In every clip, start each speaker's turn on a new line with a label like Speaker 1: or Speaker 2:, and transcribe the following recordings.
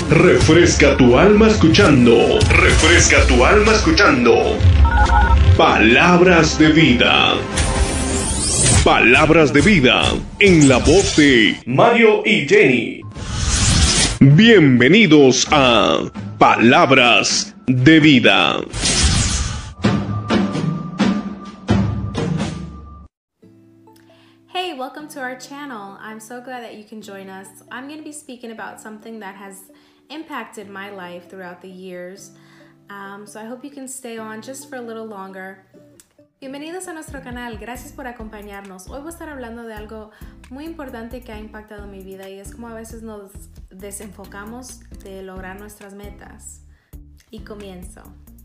Speaker 1: Refresca tu alma escuchando. Refresca tu alma escuchando. Palabras de vida. Palabras de vida en la voz de Mario y Jenny. Bienvenidos a Palabras de vida.
Speaker 2: Hey, welcome to our channel. I'm so glad that you can join us. I'm going to be speaking about something that has impacted my life throughout the years. So I hope you can stay on just for a little longer. Bienvenidos a nuestro canal, gracias por acompañarnos. Hoy voy a estar hablando de algo muy importante que ha impactado mi vida y es como a veces nos desenfocamos de lograr nuestras metas. Y comienzo.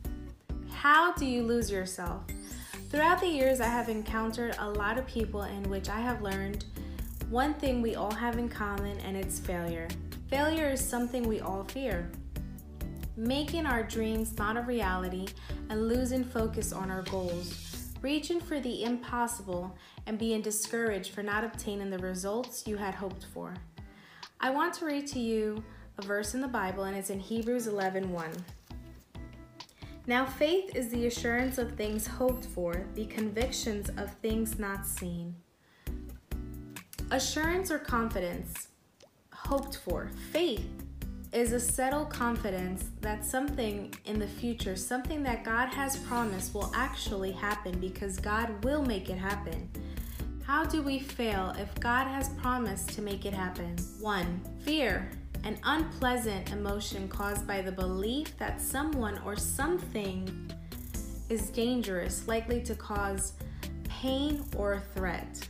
Speaker 2: How do you lose yourself? Throughout the years, I have encountered a lot of people in which I have learned one thing we all have in common, and it's failure. Failure is something we all fear. Making our dreams not a reality and losing focus on our goals, reaching for the impossible and being discouraged for not obtaining the results you had hoped for. I want to read to you a verse in the Bible, and it's in Hebrews 11:1. Now faith is the assurance of things hoped for, the convictions of things not seen. Assurance or confidence, hoped for. Faith is a settled confidence that something in the future, something that God has promised will actually happen because God will make it happen. How do we fail if God has promised to make it happen? 1. Fear. An unpleasant emotion caused by the belief that someone or something is dangerous, likely to cause pain or a threat.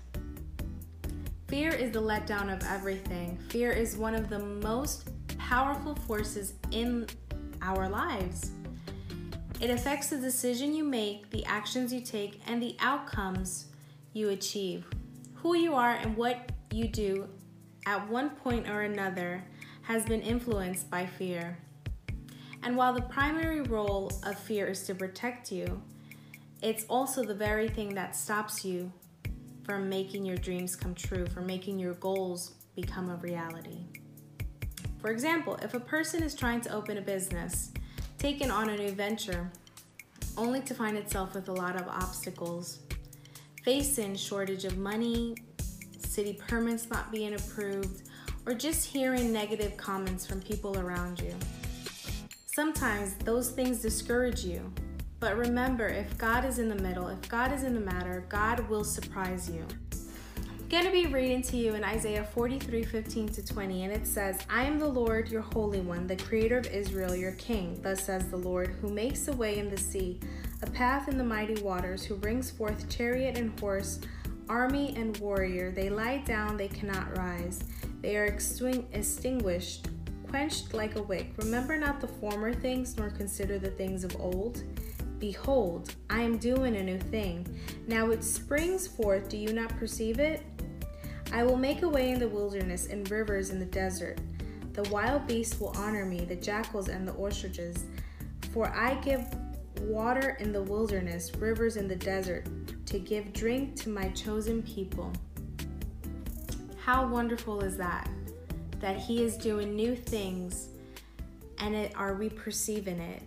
Speaker 2: Fear is the letdown of everything. Fear is one of the most powerful forces in our lives. It affects the decision you make, the actions you take, and the outcomes you achieve. Who you are and what you do at one point or another has been influenced by fear. And while the primary role of fear is to protect you, it's also the very thing that stops you from making your dreams come true, from making your goals become a reality. For example, if a person is trying to open a business, taking on a new venture, only to find itself with a lot of obstacles, facing shortage of money, city permits not being approved, or just hearing negative comments from people around you. Sometimes those things discourage you, but remember, if God is in the middle, if God is in the matter, God will surprise you. I'm going to be reading to you in Isaiah 43:15-20, and it says, I am the Lord, your Holy One, the Creator of Israel, your King. Thus says the Lord, who makes a way in the sea, a path in the mighty waters, who brings forth chariot and horse, army and warrior. They lie down, they cannot rise. They are extinguished, quenched like a wick. Remember not the former things, nor consider the things of old. Behold, I am doing a new thing. Now it springs forth, do you not perceive it? I will make a way in the wilderness and rivers in the desert. The wild beasts will honor me, the jackals and the ostriches. For I give water in the wilderness, rivers in the desert, to give drink to my chosen people. How wonderful is that? That He is doing new things, and are we perceiving it?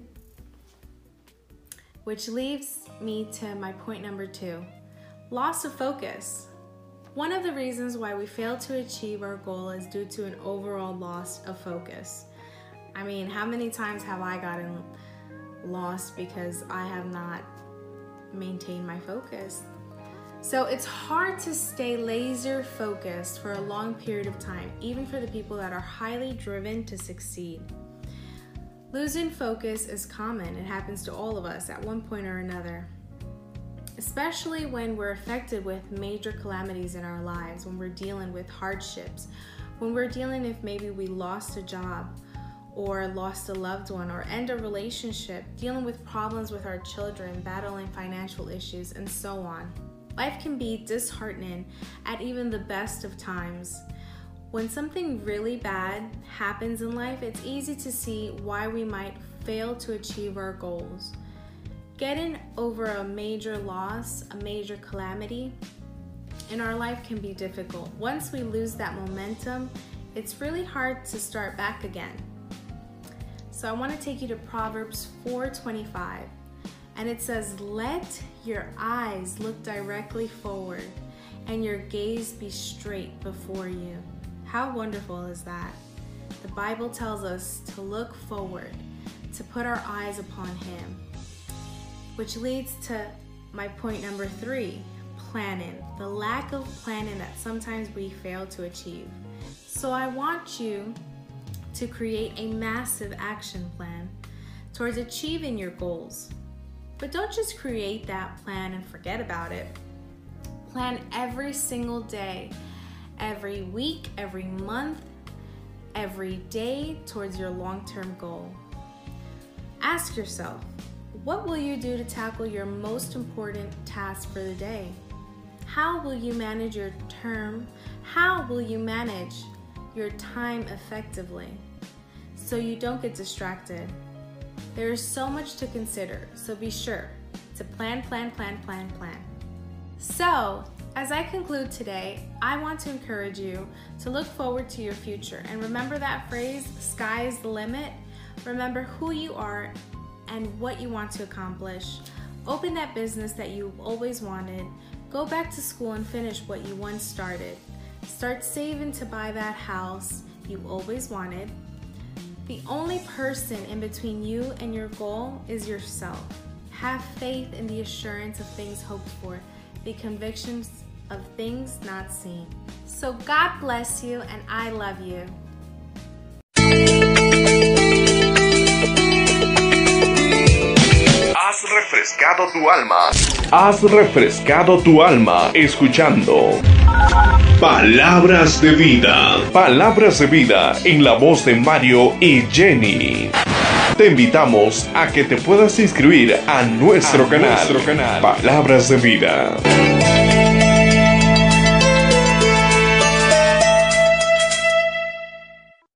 Speaker 2: Which leads me to my point number 2. Loss of focus. One of the reasons why we fail to achieve our goal is due to an overall loss of focus. I mean, how many times have I gotten lost because I have not maintained my focus? So it's hard to stay laser focused for a long period of time, even for the people that are highly driven to succeed. Losing focus is common. It happens to all of us at one point or another, especially when we're affected with major calamities in our lives, when we're dealing with hardships, when we're dealing if maybe we lost a job or lost a loved one or end a relationship, dealing with problems with our children, battling financial issues, and so on. Life can be disheartening at even the best of times. When something really bad happens in life, it's easy to see why we might fail to achieve our goals. Getting over a major loss, a major calamity in our life can be difficult. Once we lose that momentum, it's really hard to start back again. So I want to take you to Proverbs 4:25. And it says, "Let your eyes look directly forward and your gaze be straight before you." How wonderful is that? The Bible tells us to look forward, to put our eyes upon Him. Which leads to my point number 3, planning. The lack of planning that sometimes we fail to achieve. So I want you to create a massive action plan towards achieving your goals. But don't just create that plan and forget about it. Plan every single day, every week, every month, every day towards your long-term goal. Ask yourself, what will you do to tackle your most important task for the day? How will you manage your term? How will you manage your time effectively so you don't get distracted? There is so much to consider, so be sure to plan. So, as I conclude today, I want to encourage you to look forward to your future. And remember that phrase, sky's the limit. Remember who you are and what you want to accomplish. Open that business that you've always wanted. Go back to school and finish what you once started. Start saving to buy that house you always wanted. The only person in between you and your goal is yourself. Have faith in the assurance of things hoped for, the convictions of things not seen. So God bless you, and I love you.
Speaker 1: Has refrescado tu alma. Has refrescado tu alma escuchando Palabras de Vida. Palabras de Vida en la voz de Mario y Jenny. Te invitamos a que te puedas inscribir a nuestro canal Palabras de Vida.